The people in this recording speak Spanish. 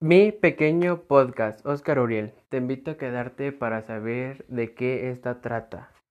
Mi pequeño podcast, Oscar Uriel. Te invito a quedarte para saber de qué esta trata.